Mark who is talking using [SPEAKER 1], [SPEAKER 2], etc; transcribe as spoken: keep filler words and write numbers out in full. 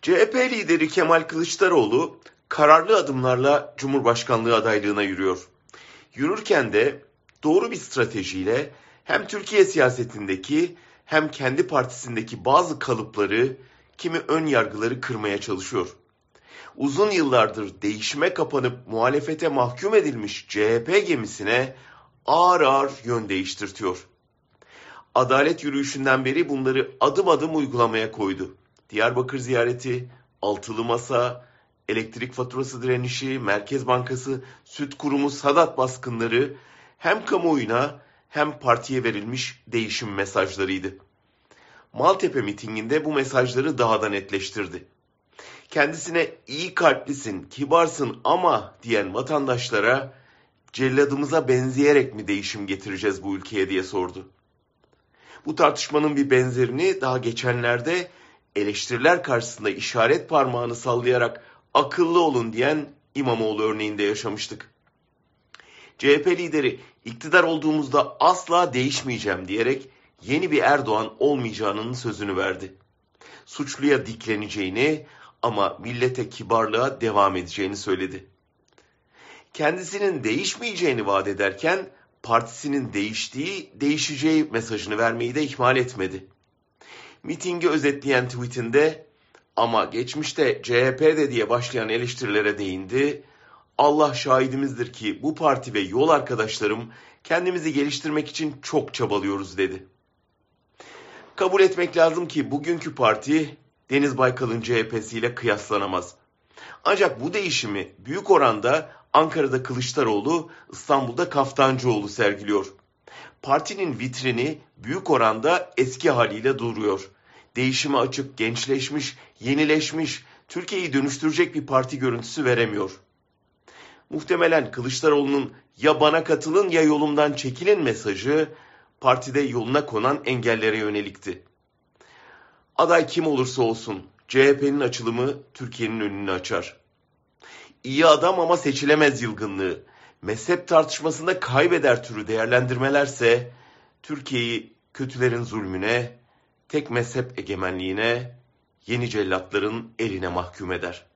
[SPEAKER 1] C H P lideri Kemal Kılıçdaroğlu kararlı adımlarla Cumhurbaşkanlığı adaylığına yürüyor. Yürürken de doğru bir stratejiyle hem Türkiye siyasetindeki hem kendi partisindeki bazı kalıpları, kimi ön yargıları kırmaya çalışıyor. Uzun yıllardır değişime kapanıp muhalefete mahkum edilmiş C H P gemisine ağır ağır yön değiştirtiyor. Adalet yürüyüşünden beri bunları adım adım uygulamaya koydu. Diyarbakır ziyareti, altılı masa, elektrik faturası direnişi, Merkez Bankası, Süt Kurumu, Sadat baskınları hem kamuoyuna hem partiye verilmiş değişim mesajlarıydı. Maltepe mitinginde bu mesajları daha da netleştirdi. Kendisine iyi kalplisin, kibarsın ama diyen vatandaşlara celladımıza benzeyerek mi değişim getireceğiz bu ülkeye diye sordu. Bu tartışmanın bir benzerini daha geçenlerde eleştiriler karşısında işaret parmağını sallayarak akıllı olun diyen İmamoğlu örneğinde yaşamıştık. C H P lideri iktidar olduğumuzda asla değişmeyeceğim diyerek yeni bir Erdoğan olmayacağının sözünü verdi. Suçluya dikleneceğini ama millete kibarlığa devam edeceğini söyledi. Kendisinin değişmeyeceğini vaat ederken partisinin değiştiği, değişeceği mesajını vermeyi de ihmal etmedi. Mitingi özetleyen tweetinde ama geçmişte C H P'de diye başlayan eleştirilere değindi. Allah şahidimizdir ki bu parti ve yol arkadaşlarım kendimizi geliştirmek için çok çabalıyoruz dedi. Kabul etmek lazım ki bugünkü parti Deniz Baykal'ın C H P'siyle kıyaslanamaz. Ancak bu değişimi büyük oranda Ankara'da Kılıçdaroğlu, İstanbul'da Kaftancıoğlu sergiliyor. Partinin vitrini büyük oranda eski haliyle duruyor. Değişime açık, gençleşmiş, yenileşmiş, Türkiye'yi dönüştürecek bir parti görüntüsü veremiyor. Muhtemelen Kılıçdaroğlu'nun ya bana katılın ya yolumdan çekilin mesajı partide yoluna konan engellere yönelikti. Aday kim olursa olsun C H P'nin açılımı Türkiye'nin önünü açar. İyi adam ama seçilemez yılgınlığı, mezhep tartışmasında kaybeder türü değerlendirmelerse Türkiye'yi kötülerin zulmüne, tek mezhep egemenliğine, yeni cellatların eline mahkum eder.